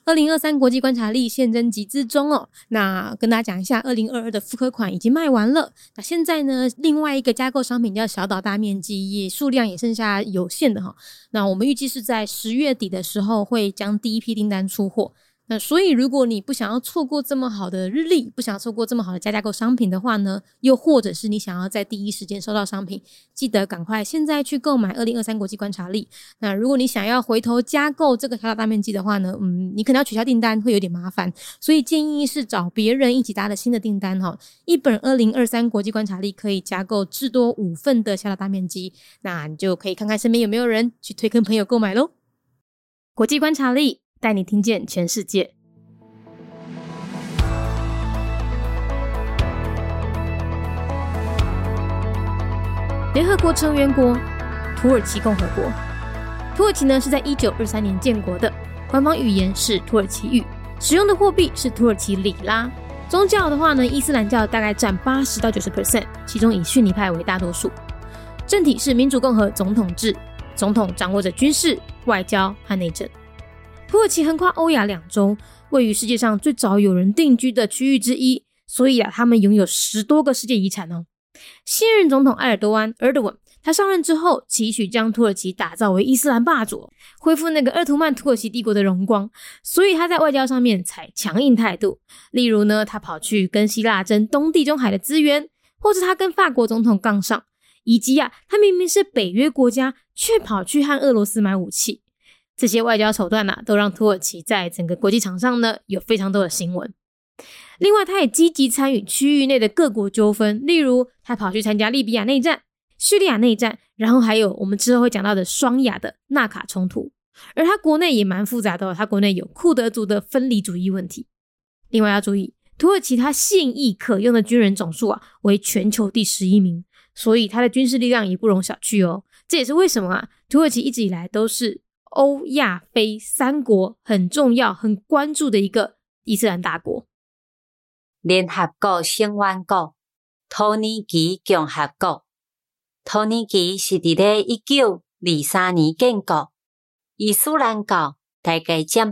2023国际观察力现正集资中哦。那跟大家讲一下2022的复刻款已经卖完了，那现在呢另外一个加购商品叫小岛大面积，也数量也剩下有限的那我们预计是在10月底的时候会将第一批订单出货。那所以如果你不想要错过这么好的日历，不想要错过这么好的加购商品的话呢，又或者是你想要在第一时间收到商品，记得赶快现在去购买2023国际观察力。那如果你想要回头加购这个小岛大面积的话呢，你可能要取消订单，会有点麻烦，所以建议是找别人一起搭的新的订单一本2023国际观察力可以加购至多5份的小岛大面积，那你就可以看看身边有没有人去推跟朋友购买咯。国际观察力带你听见全世界。联合国成员国土耳其共和国。土耳其呢是在1923年建国的，官方语言是土耳其语，使用的货币是土耳其里拉。宗教的话呢，伊斯兰教大概占80到 90%， 其中以逊尼派为大多数。政体是民主共和总统制，总统掌握着军事、外交和内政。土耳其横跨欧亚2洲，位于世界上最早有人定居的区域之一，所以他们拥有10多个世界遗产现任总统埃尔多安 Erdogan 他上任之后，期许将土耳其打造为伊斯兰霸主，恢复那个鄂图曼土耳其帝国的荣光，所以他在外交上面采强硬态度。例如呢，他跑去跟希腊争东地中海的资源，或是他跟法国总统杠上，以及他明明是北约国家，却跑去和俄罗斯买武器。这些外交手段都让土耳其在整个国际场上呢有非常多的新闻。另外，他也积极参与区域内的各国纠纷，例如他跑去参加利比亚内战、叙利亚内战，然后还有我们之后会讲到的双亚的纳卡冲突。而他国内也蛮复杂的他国内有库德族的分离主义问题。另外要注意，土耳其他现役可用的军人总数为全球第11名，所以他的军事力量也不容小觑这也是为什么土耳其一直以来都是欧亚非3国很重要很关注的一个伊斯兰大国。 联合国成员国土耳其共和国。土耳其是在1923年建国，伊斯兰教大概占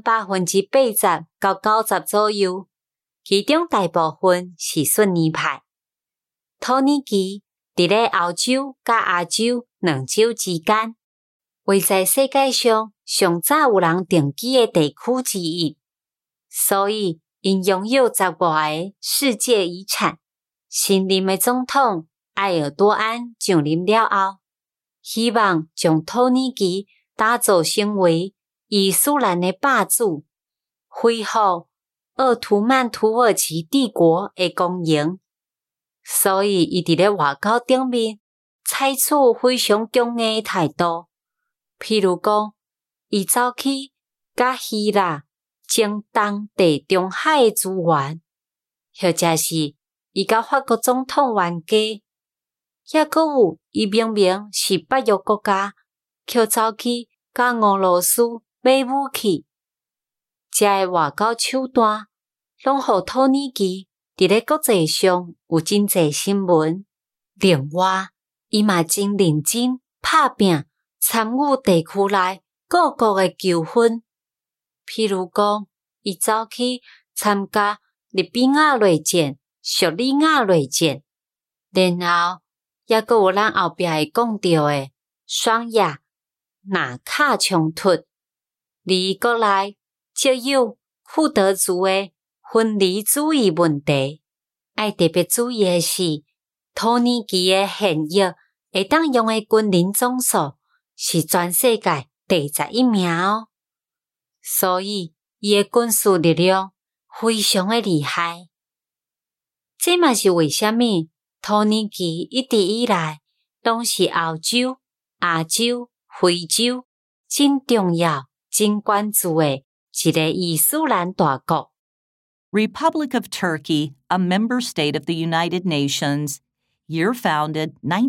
80%到90%左右，其中大部分是逊尼派。土耳其在欧洲甲亚洲2洲之间，位在世界上上早有人定居的地区之一，所以因拥有10外个世界遗产。新任的总统埃尔多安上任了后，希望将土耳其打造成为伊斯兰的霸主，恢复鄂图曼土耳其帝国的光荣。所以伊伫咧外交顶面采取非常强硬的态度，譬如讲，伊走去甲希腊争东地中海的资源，或者是伊甲法国总统冤家，也搁有伊明明是北约国家，却走去甲俄罗斯买武器。这个外交手段，拢互土耳其伫咧国际上有真侪新闻。另外，伊嘛真认真拍拼，参与地区内各国的纠纷。譬如讲，伊走去参加利比亚内战、叙利亚内战，然后也搁有咱后壁会讲到的双亚、纳卡冲突，离国内则有库德族的分离主义问题。爱特别注意的是，土耳其的现役会当用的军人总数是全世界第11名所以伊的军事力量非常的厉害。这嘛是为什么土耳其一直以来拢是欧洲、亚洲、非洲真重要、真关注的一个伊斯兰大国。 Republic of Turkey, a member state of the United Nations, year founded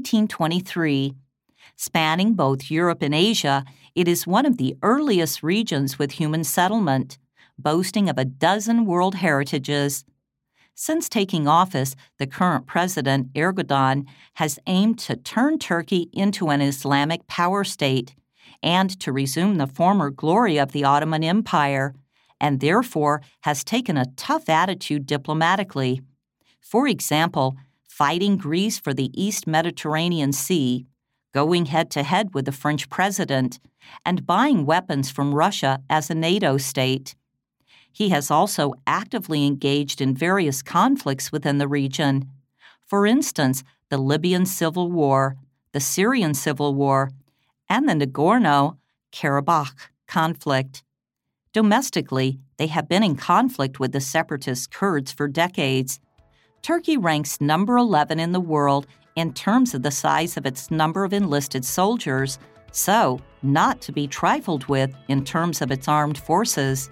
1923. Spanning both Europe and Asia, it is one of the earliest regions with human settlement, boasting of a dozen world heritages. Since taking office, the current president, Erdogan, has aimed to turn Turkey into an Islamic power state and to resume the former glory of the Ottoman Empire, and therefore has taken a tough attitude diplomatically. For example, fighting Greece for the East Mediterranean Sea, going head-to-head with the French president, and buying weapons from Russia as a NATO state. He has also actively engaged in various conflicts within the region. For instance, the Libyan Civil War, the Syrian Civil War, and the Nagorno-Karabakh conflict. Domestically, they have been in conflict with the separatist Kurds for decades. Turkey ranks number 11 in the world in terms of the size of its number of enlisted soldiers, so not to be trifled with in terms of its armed forces.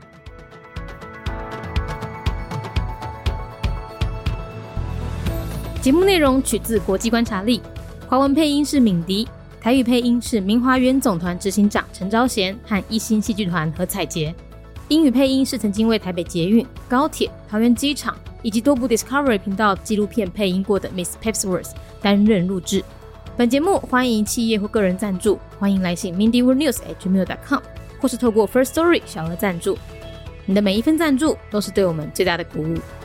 节目内容取自国际观察力，华文配音是敏迪，台语配音是明华园总团执行长陈昭贤和一心戏剧团何彩杰，英语配音是曾经为台北捷运、高铁、桃园机场以及多部 Discovery 频道纪录片配音过的 Miss Pepsworth 担任录制。本节目欢迎企业或个人赞助，欢迎来信 mindyworldnews@gmail.com 或是透过 First Story 小额赞助。你的每一份赞助都是对我们最大的鼓舞。